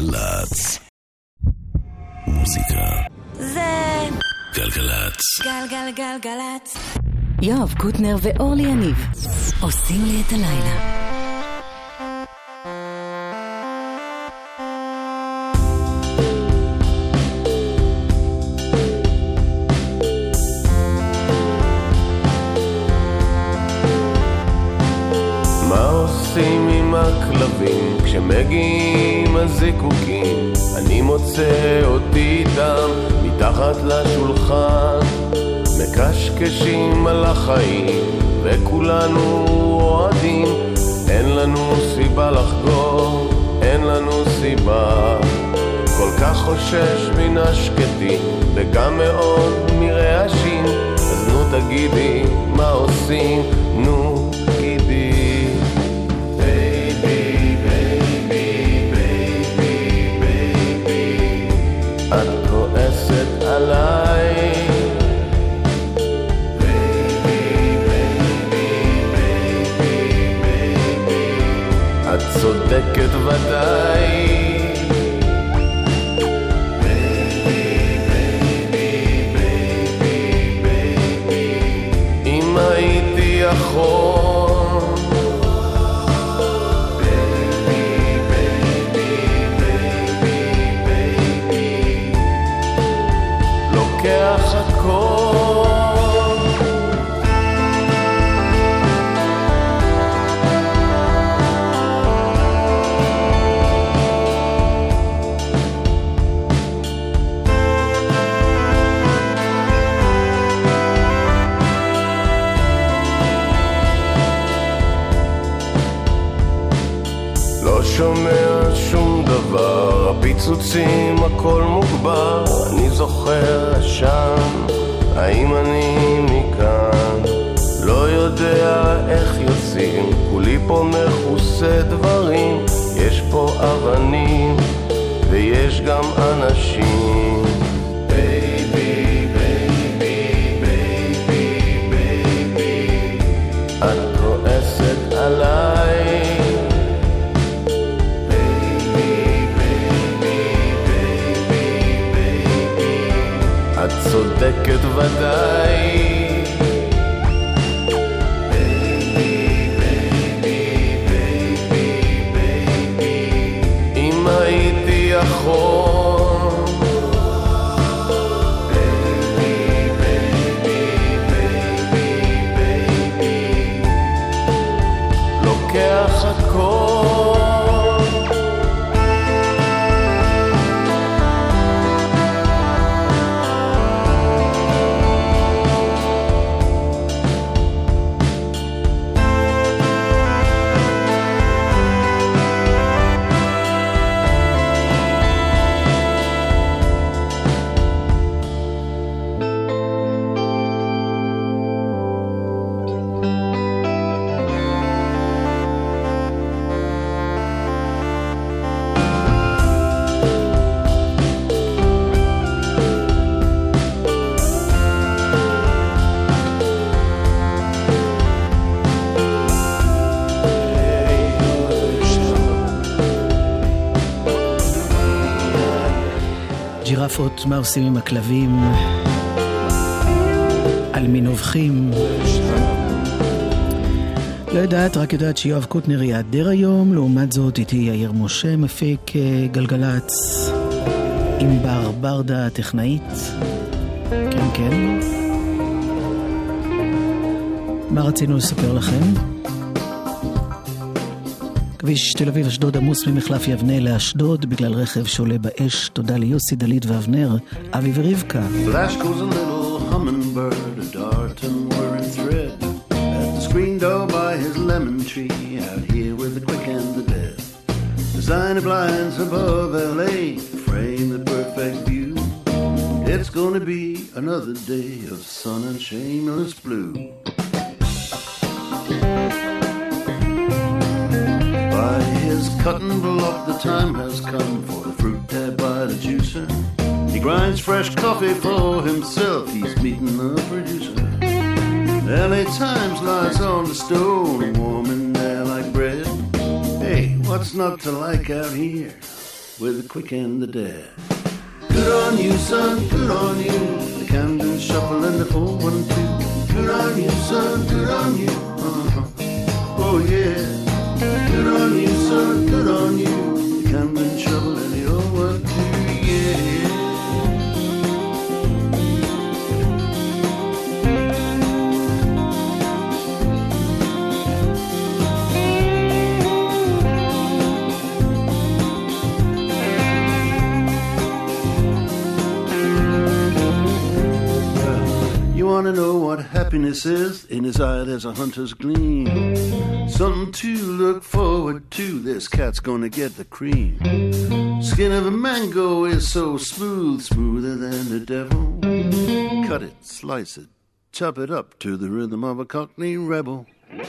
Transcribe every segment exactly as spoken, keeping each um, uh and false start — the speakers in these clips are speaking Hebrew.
גלגלצ. מוזיקה זה גלגלצ. גלגלגלגלצ. יואב קוטנר ואורלי יניב עושים לי את הלילה. עושים עם הכלבים כשמגיעים הזיקוקים, אני מוצא אותי איתם מתחת לשולחן, מקשקשים על החיים וכולנו אוהדים. אין לנו סיבה לחגור, אין לנו סיבה. כל כך חושש מן השקטים וגם מאוד מרעשים, אז נו תגידי מה עושים, נו תגידי. את כועסת עליי, בייבי, בייבי, בייבי, בייבי, את צודקת ודאי, בייבי, בייבי, בייבי, בייבי, אם הייתי יכול לוקח הכל. לא שומע שום דבר, הפיצוצים הכל מוגבר, אני זוכר שם, האם אני מכאן, לא יודע איך יוצאים, כולי פה מכוסה דברים, יש פה אבנים ויש גם אנשים. בייבי, בייבי, בייבי, בייבי, את כועסת עליי, צודקת ודאי, בייבי, בייבי, בייבי, בייבי, אם הייתי יכול, בייבי, בייבי, בייבי, בייבי, לוקח הכל. ג'ירפות, מה עושים עם הכלבים? על מי נובחים? לא יודעת, רק יודעת שיואב קוטנר יעדר היום. לעומת זאת איתי יאיר משה, מפיק גלגלץ, עם בר ברדה טכנאית. כן כן, מה רצינו לספר לכם? כביש תל אביב אשדוד עמוס ממחלף יבנה לאשדוד בגלל רכב שעולה באש. תודה ליוסי, דלית ואבנר, אבי ורבקה. Flash goes a little hummingbird, a dart and whirring thread, at the screen door by his lemon tree, out here with the quick and the dead. Designer blinds above L A frame the perfect view. It's gonna be another day of sun and shameless blue. His cutting block, the time has come for the fruit tab by the juicer. He grinds fresh coffee for himself, he's meeting the producer. L A Times lies on the stone, warm in there like bread. Hey, what's not to like out here? with the quick and the dead. Good on you, son, good on you. The Camden Shuffle and the four one two. Good on you, son, good on you. Uh-huh. Oh yeah. Good on you, son, good on you. The Camden Shuffle and the four one two. Yeah. Want to know what happiness is? In his eye there's a hunter's gleam. Something to look forward to. This cat's gonna get the cream. Skin of a mango is so smooth, smoother than the devil. Cut it, slice it, chop it up to the rhythm of a Cockney rebel.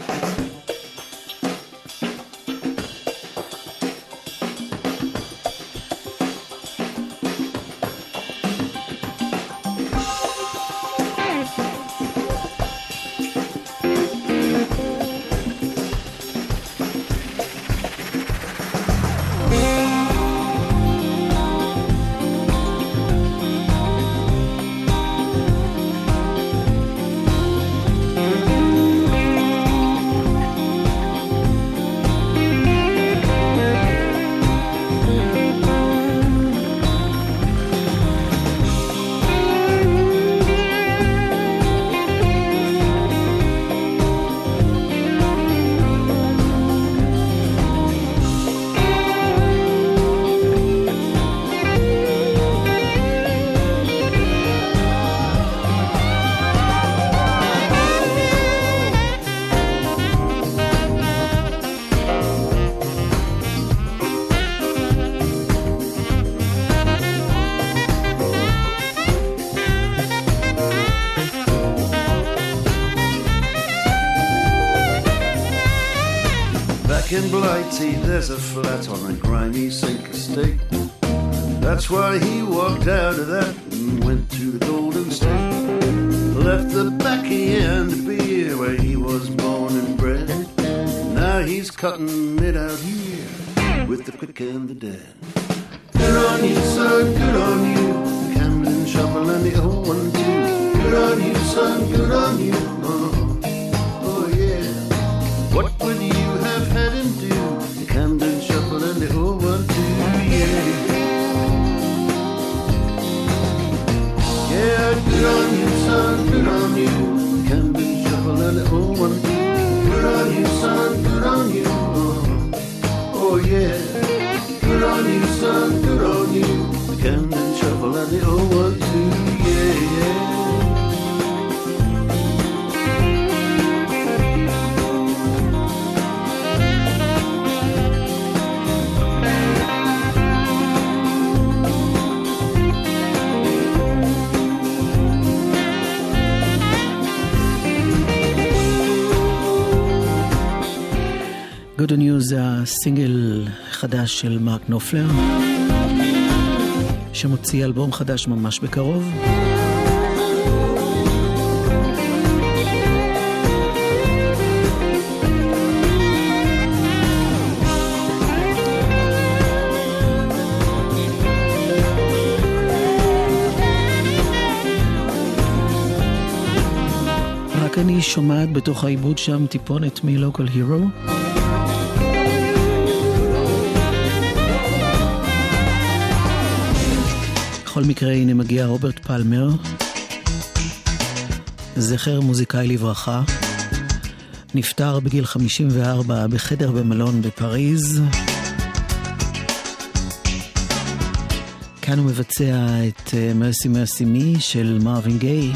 In Blighty there's a flat on a grimy sink estate. That's why he walked out of that and went to the Golden State. Left the baccy and the beer where he was born and bred. Now he's cutting it out here with the quick and the dead. Good on you, son, good on you. The Camden Shuffle and the old one too. Good on you, son, good on you. Oh, oh yeah. What would you have had him do? The Camden Shuffle and the old one too, yeah. Yeah, good on you, son, good on you. The Camden Shuffle and the old one too. Good on you, son, good on you. Oh, oh yeah. Good on you, son, good on you. The Camden Shuffle and the old one too, yeah, yeah. Good News זה הסינגל חדש של מרק נופלר, שמוציא אלבום חדש ממש בקרוב. רק אני שומעת בתוך העיבוד שם טיפונת מ-Local Hero. בכל מקרה, הנה מגיע רוברט פלמר, זכר מוזיקאי לברכה, נפטר בגיל חמישים וארבע בחדר במלון בפריז. כאן הוא מבצע את Mercy Mercy Me של מרווין גיי.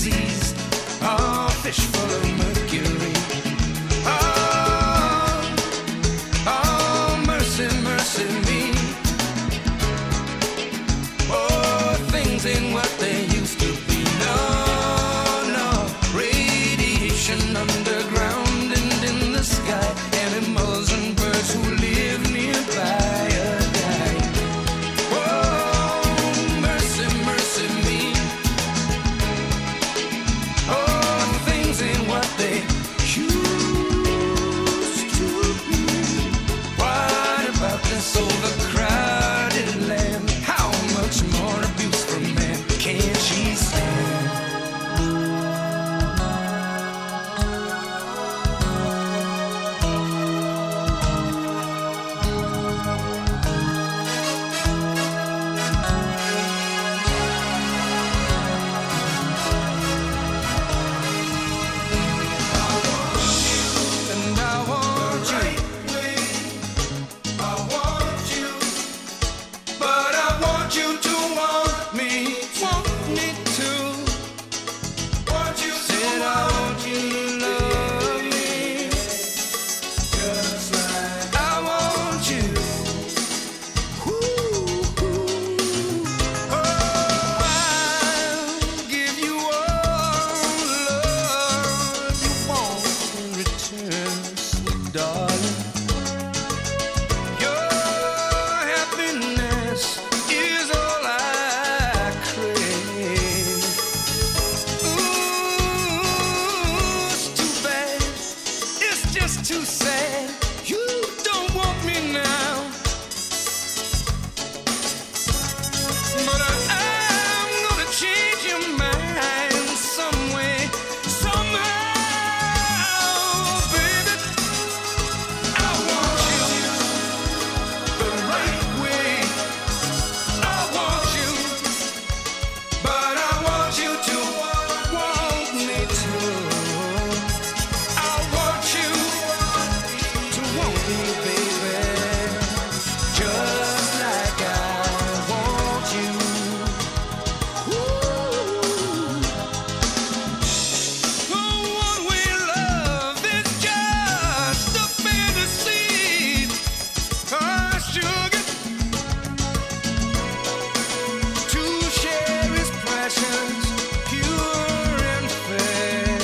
Fish full of mercury. Oh, just too sad. You don't want me now, but I, I'm gonna change your mind some way, somehow, baby. I want you the right way. I want you, but I want you to want me too. I want you to want me, baby, just like I want you. Oh, one-way love is just a fantasy. Oh, sugar, to share is precious, pure and fair.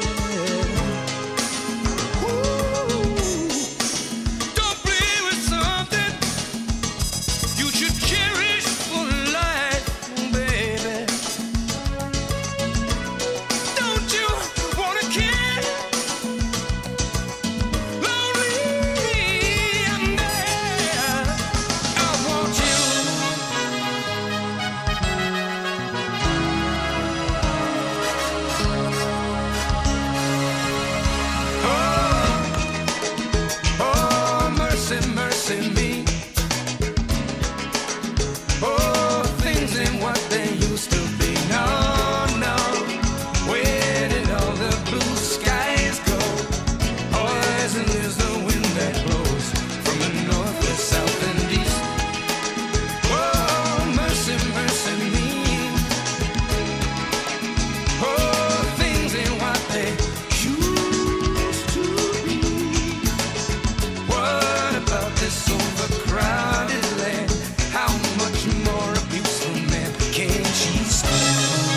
Ooh, don't play with something you should cherish for life, baby. Don't you wanna care? Lonely and there, I want you. Oh, oh, mercy, mercy me. Oh, things ain't what they used to be. No, no. Where did all the blue skies go? Poison is the wind that blows from the north, the south, and east. Oh, mercy, mercy me. Oh, things ain't what they used to be. What about this overcrowded land? How much more abuse from man can she stand?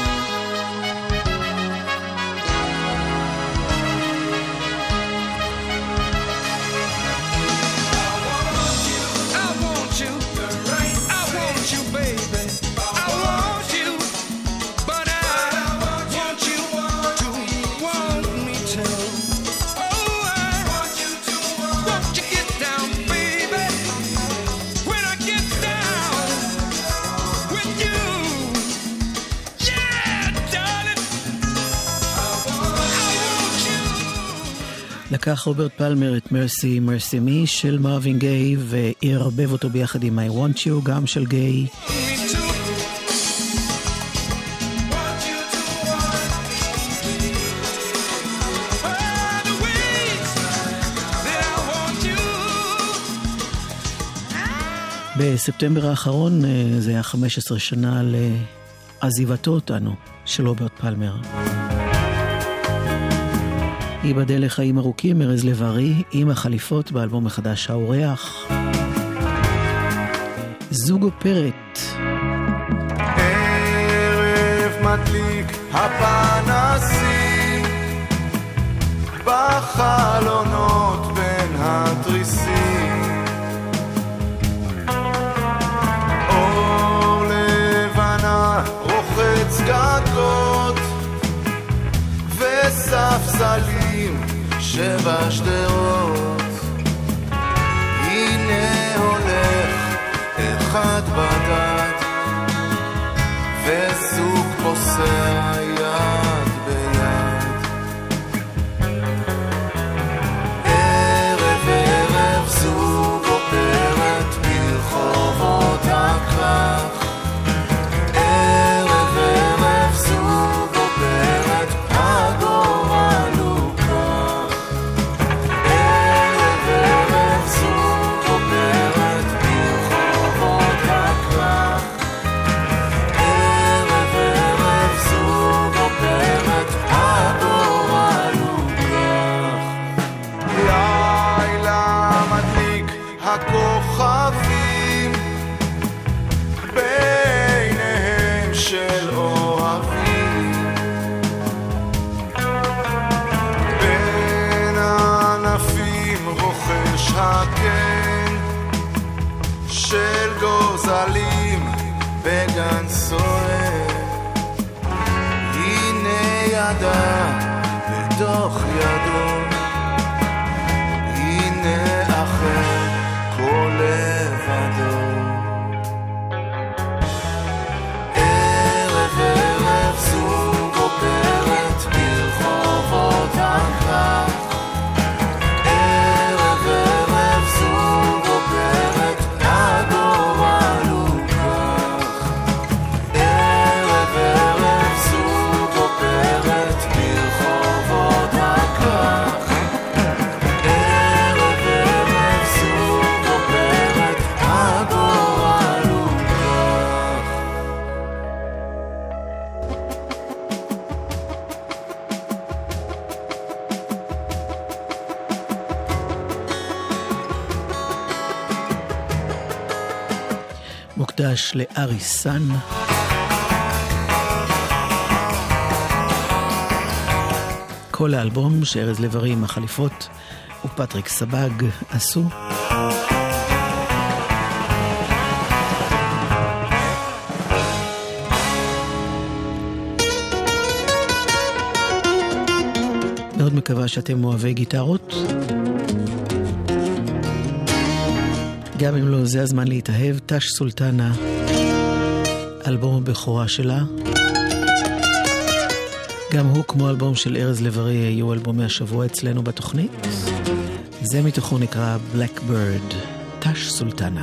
I want you, I want you, baby. I want you, but I want you to want me too. Oh, I want you to want you get down, baby. When I get down with you, yeah, darling. I want you. לקח רוברט פלמר את מרסי מרסי מי של מרווין גיי וערבב אותו ביחד עם I Want You, גם של גיי. Me too. Want you to want me. Oh, the ways that I want you. בספטמבר האחרון, אה, זה היה חמש עשרה שנה לעזיבתו אותנו של רוברט פלמר. ייבדל לחיים ארוכים, ארז לב-ארי עם החליפות באלבום החדש האורח. זוג אופרת. ערב מדליק הפנסים בחלונות בין התריסים, אור לבנה רוחץ גגות וספסלים שבשדרות. הנה הולך אחד בדד וזוג פוסע יד ביד. ערב ערב זוג אופרת ברחובות הכרך. ערב ערב זוג אופרת הגורל הוא כך. ערב ערב זוג אופרת ברחובות הכרך. ערב ערב זוג אופרת הגורל הוא כך. לילה מדליק הכוכבים ביניהם של אוהבים. בין ענפים רוכש הקן של גוזלים בגן סוער. הנה ידה בתוך ידו מוקדש לארי סן. כל האלבום שארז לב-ארי עם החליפות ופטריק סבג עשו. מאוד מקווה שאתם אוהבי גיטרות. גם אם לא, זה הזמן להתאהב. טש סולטנה, אלבום הבכורה שלה. גם הוא, כמו אלבום של ארז לב-ארי, היו אלבומי השבוע אצלנו בתוכנית. זה מתוכו נקרא Blackbird, טש סולטנה.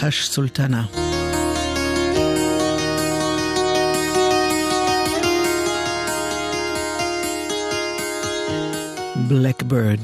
טש סולטנה. Blackbird.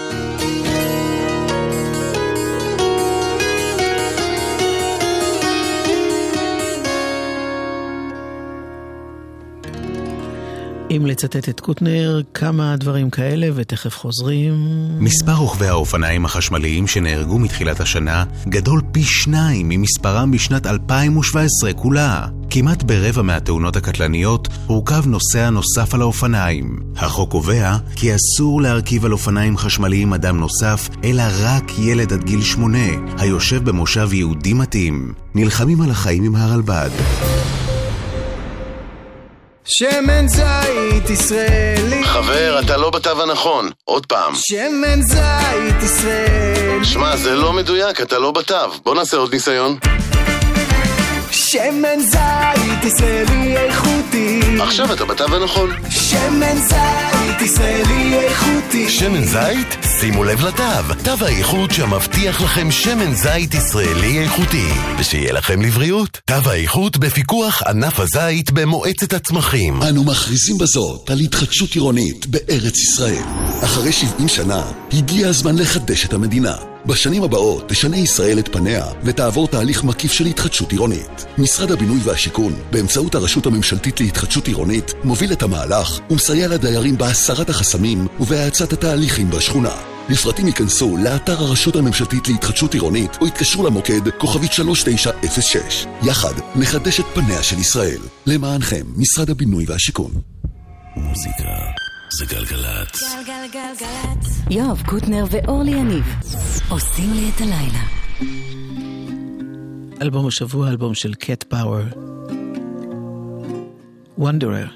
אם לצטט את קוטנר, כמה דברים כאלה ותכף חוזרים. מספר רוכבי האופניים החשמליים שנהרגו מתחילת השנה גדול פי שניים ממספרם בשנת אלפיים שבע עשרה כולה. כמעט ברבע מהתאונות הקטלניות הורכב נוסע נוסף על האופניים. החוק קובע כי אסור להרכיב על אופניים חשמליים אדם נוסף, אלא רק ילד עד גיל שמונה, היושב במושב יהודי מתאים. נלחמים על החיים עם הרלב"ד. שמן זית ישראלי. חבר, אתה לא בתו הנכון. עוד פעם. שמן זית ישראלי. שמע, זה לא מדויק, אתה לא בתו. בוא נעשה עוד ניסיון. שמן זית ישראלי איכותי. עכשיו אתה בתו הנכון. שמן זית ישראלי איכותי. שמן זית? שימו לב לתו. תו האיכות שמבטיח לכם שמן זית ישראלי איכותי. ושיהיה לכם לבריאות. תו האיכות בפיקוח ענף הזית במועצת הצמחים. אנו מכריזים בזאת על התחדשות עירונית בארץ ישראל. אחרי שבעים שנה, הגיע הזמן לחדש את המדינה. בשנים הבאות תשנה ישראל את פניה ותעבור תהליך מקיף של התחדשות עירונית. משרד הבינוי והשיכון, באמצעות הרשות הממשלתית להתחדשות עירונית, מוביל את המהלך ומסייע לדיירים בהסרת החסמים ובהאצת התהליכים בשכונה. לפרטים ייכנסו לאתר הרשות הממשלתית להתחדשות עירונית או יתקשרו למוקד כוכבית שלוש תשע אפס שש. יחד נחדש את פניה של ישראל. למענכם, משרד הבינוי והשיכון. מוזיקה זה גלגלת. גלגלגלגלת. יואב קוטנר ואורלי יניב עושים לי את הלילה. אלבום השבוע, אלבום של קט פאוור, Wanderer.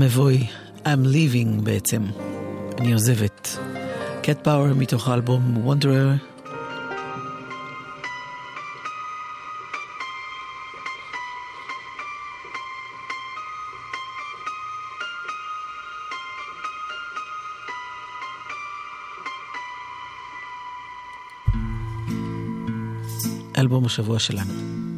נבוי, I'm leaving בעצם, אני עוזבת. קט פאוור מתוך האלבום Wanderer. אלבום השבוע שלנו.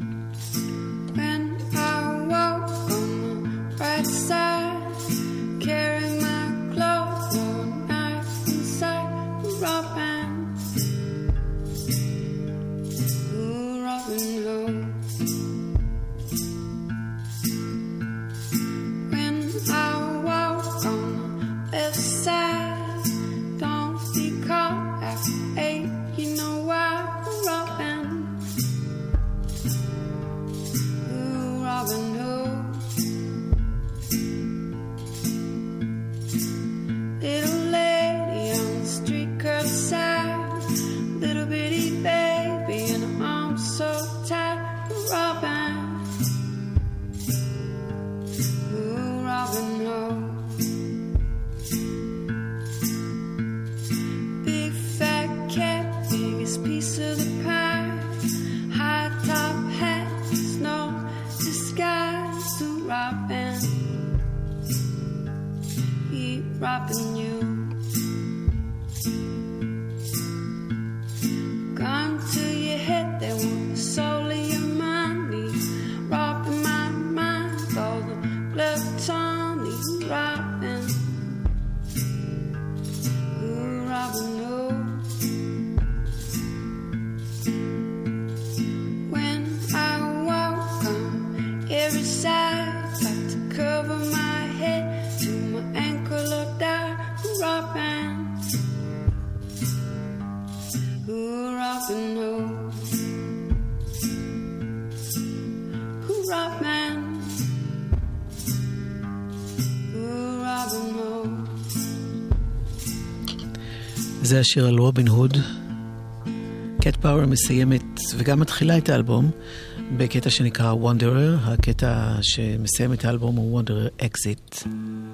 זה השיר על רובין הוד. קט פאוור מסיימת וגם מתחילה את האלבום בקטע שנקרא Wanderer. הקטע שמסיים את האלבום הוא Wanderer Exit.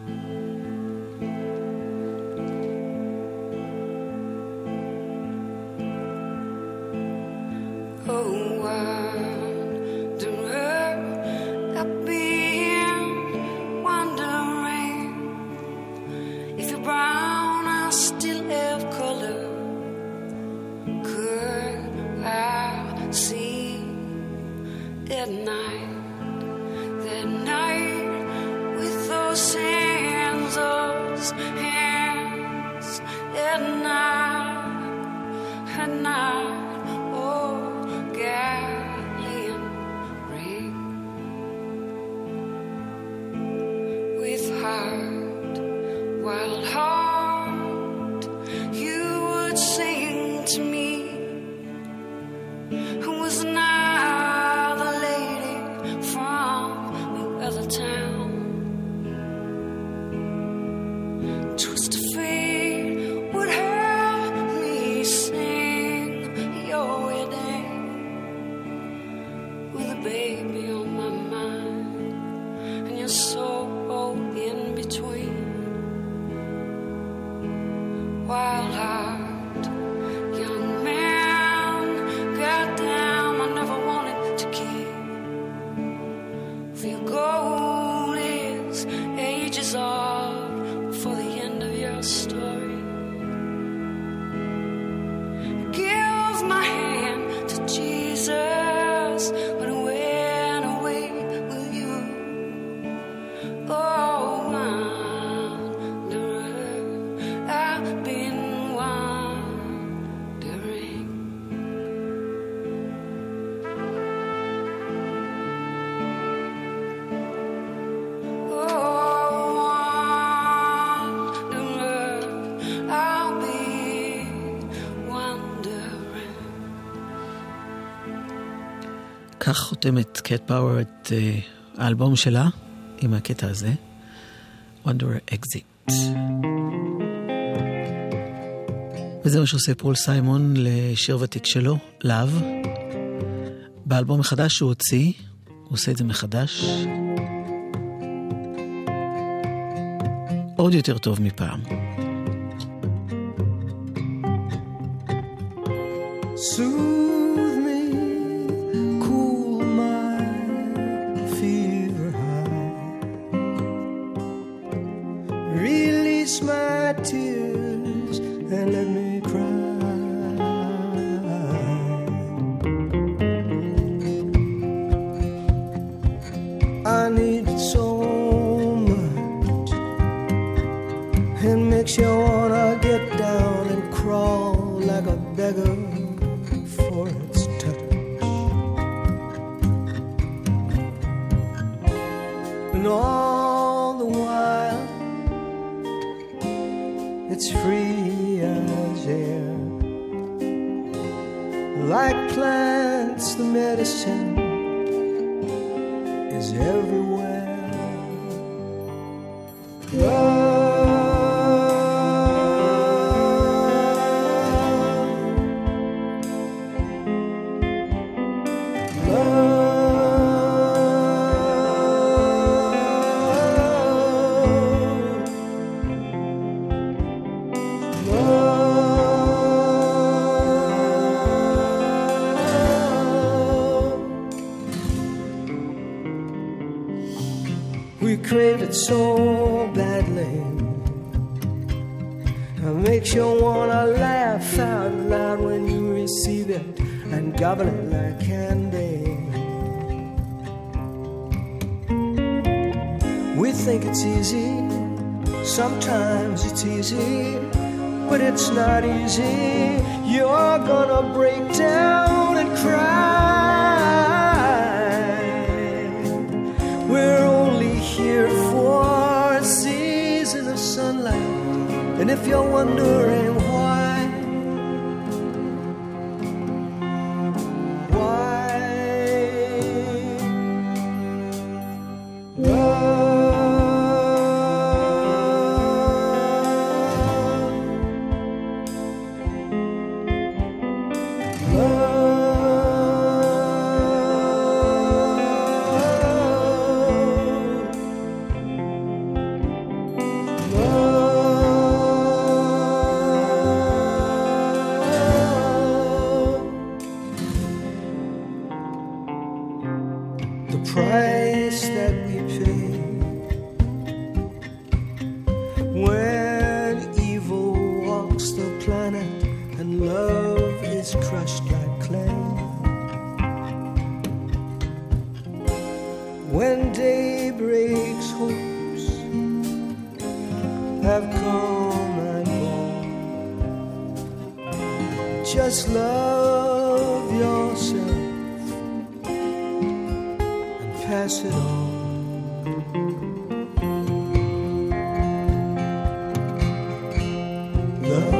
כך חותמת קט פאוור את uh, האלבום שלה עם הקטע הזה, Wanderer Exit. וזה מה שעושה פול סיימון לשיר ותיק שלו, Love. באלבום החדש שהוא הוציא, הוא עושה את זה מחדש. עוד יותר טוב מפעם. Soothe me, cool my fever high, release my tears and let me cry. I need it so much, it makes you wanna get down and crawl like a beggar for its touch. And all the while it's free as air, like plants the medicine is everywhere. Love, crave it so badly, it makes you wanna laugh out loud when you receive it and gobble it like candy. We think it's easy, sometimes it's easy, but it's not easy. You're gonna break down and cry. We're only here for a season of sunlight, and if you're wondering why, why, love, love. Price that we pay when evil walks the planet and love is crushed like clay. When day breaks, hopes have come and gone. Just love yourself, pass it on. Love.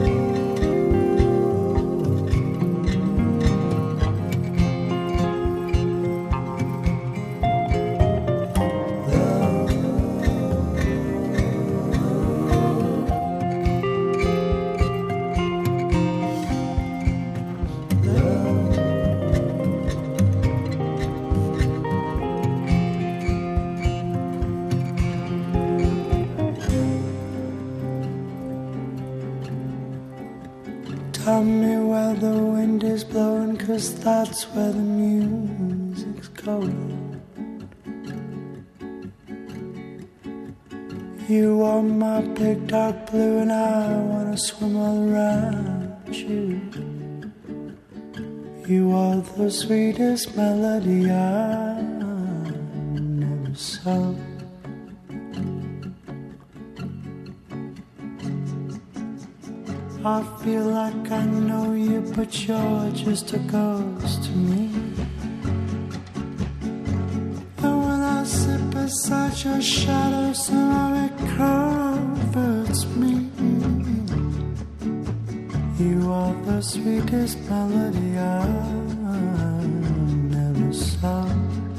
Tell me where the wind is blowing, 'cause that's where the music's going. You are my big dark blue and I wanna swim all around you. You are the sweetest melody I never sung. I feel like I know you, but you're just a ghost to me. And when I sit beside your shadow, somehow it comforts me. You are the sweetest melody I never sung.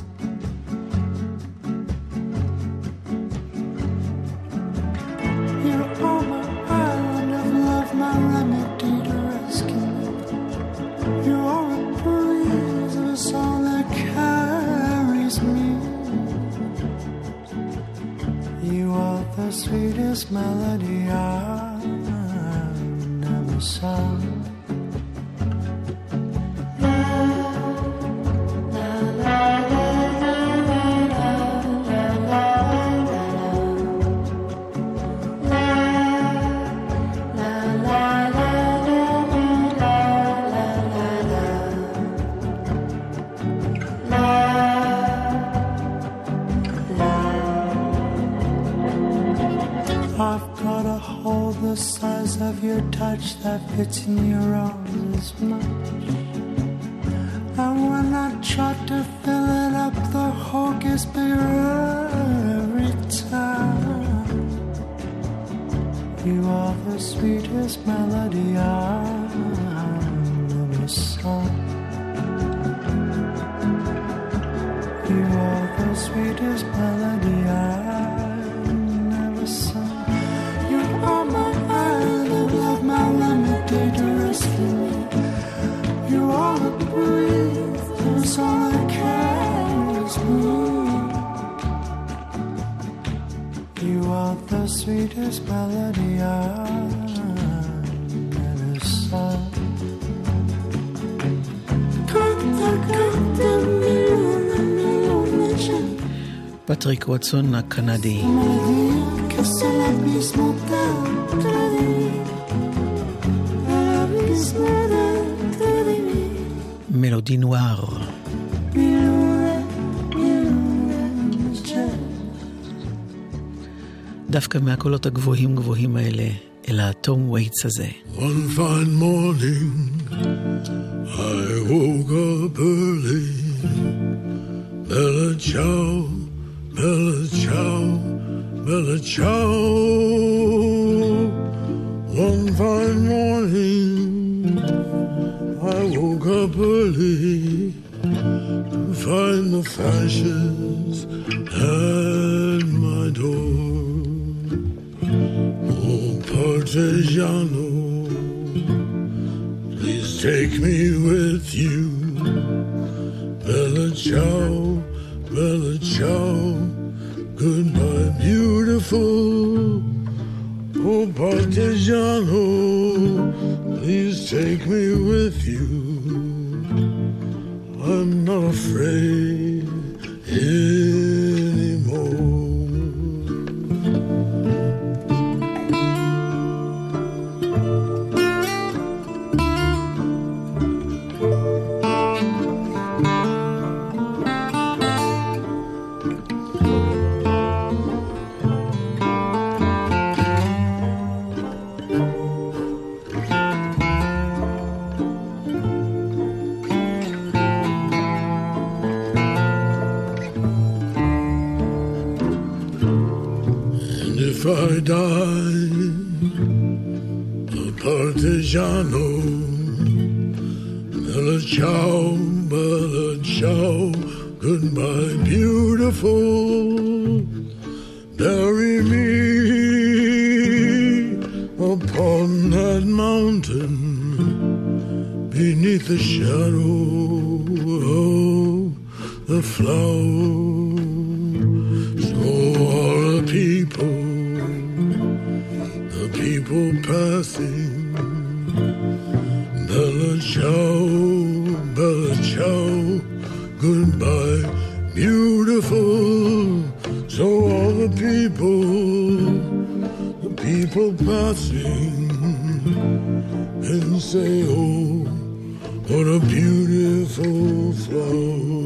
You are my island of love, my remedy to rescue me. You are a breeze of a song that carries me. You are the sweetest sweetest melody I've never sung. The size of your touch that fits in your arms as much. And when I try to fill it up, the hole gets bigger every time. You are the sweetest melody I've ever sung. You are the sweetest melody I've never sung. You are my island of love, my remedy to rescue me. You are the breeze, that's all that carries me. You are the sweetest melody I've ever sung. פטריק ווטסון הקנדי. מלודי נואר. דווקא מהקולות הגבוהים גבוהים האלה אל התום וייטס הזה. One fine morning I woke up early. Bella ciao, bella ciao, bella ciao. One fine morning I woke up early to find the fashions at my door. Oh, Partigiano, please take me with you. Bella ciao, bella ciao, goodbye beautiful. Oh, Partigiano, please take me with you. I'm not afraid anymore. If I die a partigiano, bella ciao, bella ciao, goodbye beautiful. Bury me upon that mountain beneath the shadow of the flowers. So all the people people passing, bella ciao, bella ciao, goodbye, beautiful. So all the people, the people passing, and say, oh, what a beautiful flower.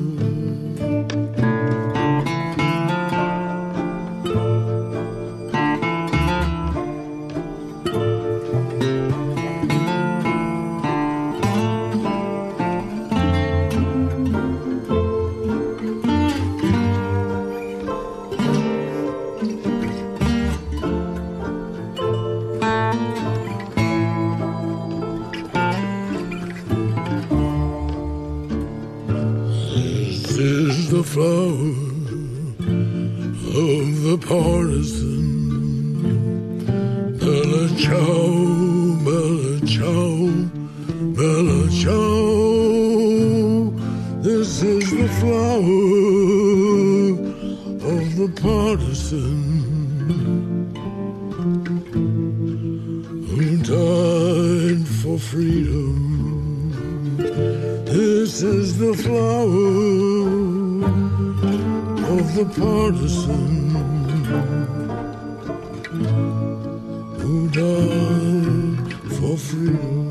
The flower of the partisan. Bella ciao, bella ciao, bella ciao. This is the flower of the partisan. for freedom. This is the flower of the partisan who died for freedom.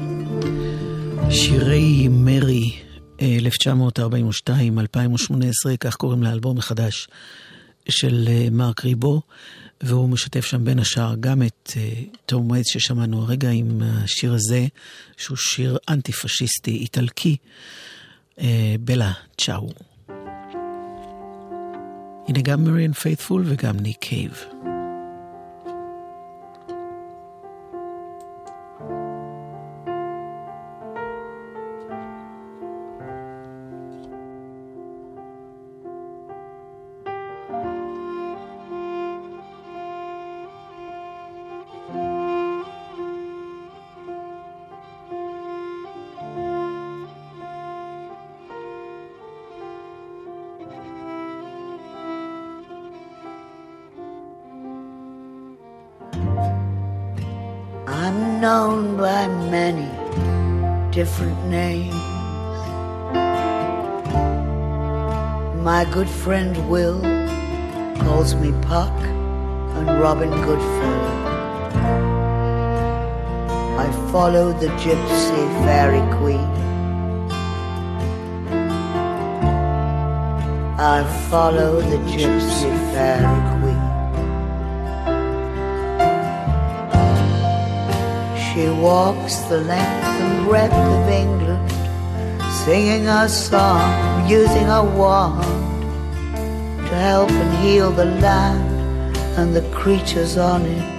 שירי מרי, אלף תשע מאות ארבעים ושתיים אלפיים ושמונה עשרה, כך קוראים לאלבום החדש של מרק ריבו, והוא משתף שם בין השאר גם את תום וייטס ששמענו הרגע עם השיר הזה, שהוא שיר אנטי-פשיסטי איטלקי, בלה צ'או. הנה גם מריאן פייתפול וגם ניק קייב. I'm known by many different names. My good friend Will calls me Puck and Robin Goodfellow. I follow the gypsy fairy queen. I follow the gypsy fairy queen. She walks the length and breadth of England, singing a song, using a wand to help and heal the land and the creatures on it.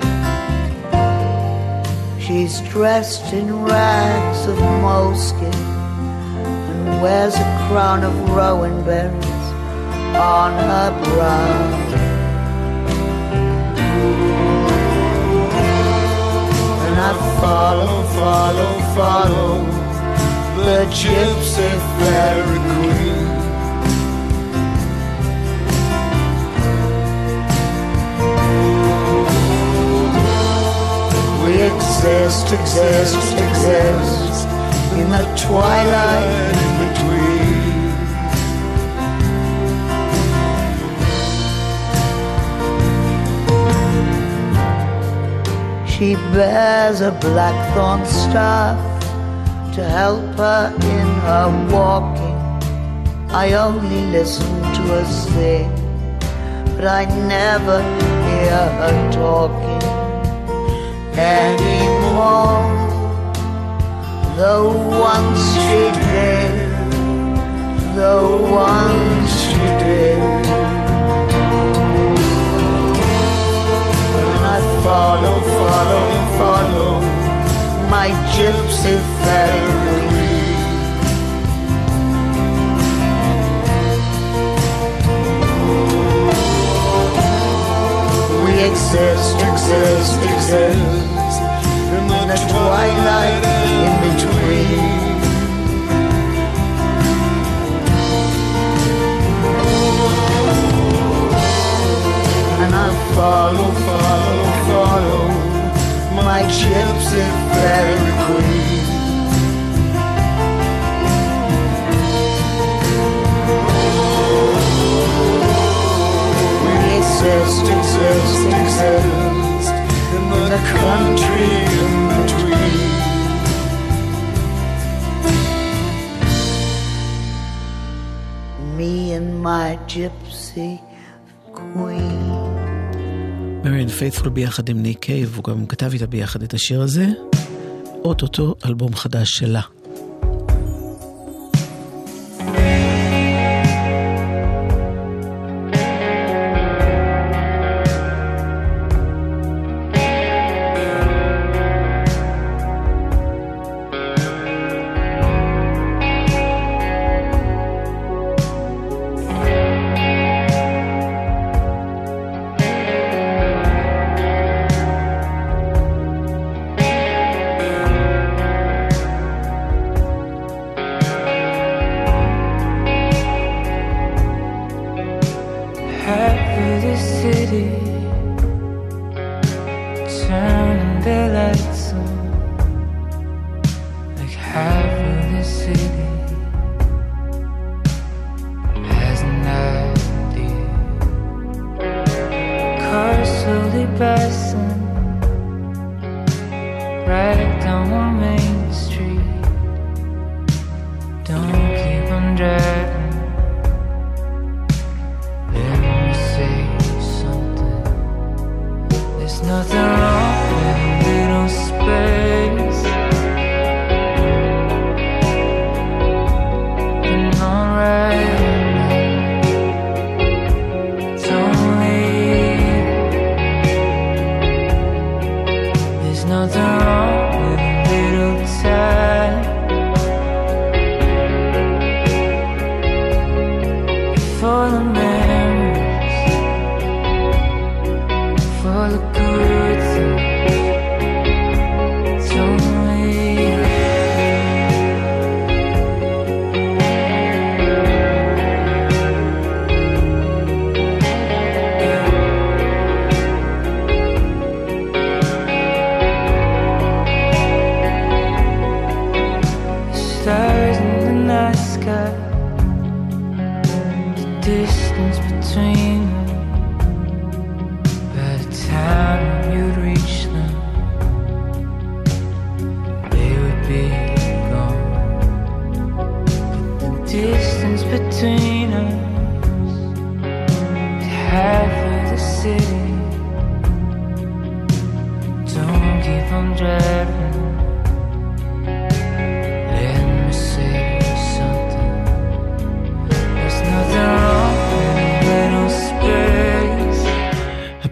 She's dressed in rags of moleskin and wears a crown of rowan berries on her brow. I follow, follow, follow the gypsy fairy queen. We exist, exist, exist in the twilight in between. She bears a blackthorn staff to help her in her walking. I only listen to her sing, but I never hear her talking anymore. Though once she did, though once she did. Follow, follow, follow my gypsy fairy. We exist, exist, exist in the twilight in between. And I follow, follow, follow my gypsy fairy queen. We exist, exist, exist in the country in between. Me and my gypsy queen. מריאן פייתפול ביחד עם ניק קייב, הוא גם כתב איתה ביחד את השיר הזה, אוטוטו אלבום חדש שלה.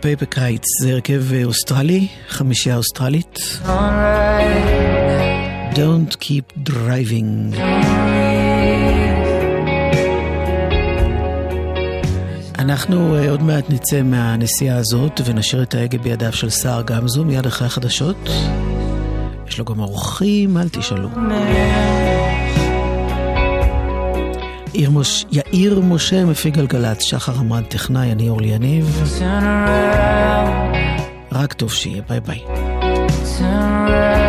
פייפר קייטס זה הרכב אוסטרלי, חמישייה אוסטרלית. Don't keep driving. אנחנו עוד מעט נצא מהנסיעה הזאת ונשאיר את ההגה בידיו של סער גמזו מיד אחרי החדשות. יש לו גם אורחים, אל תשאלו. מוש... יאיר משה מפיק גלגלת, שחר עמרן טכנאי, אני אורלי יניב. רק טוב שיהיה, ביי ביי.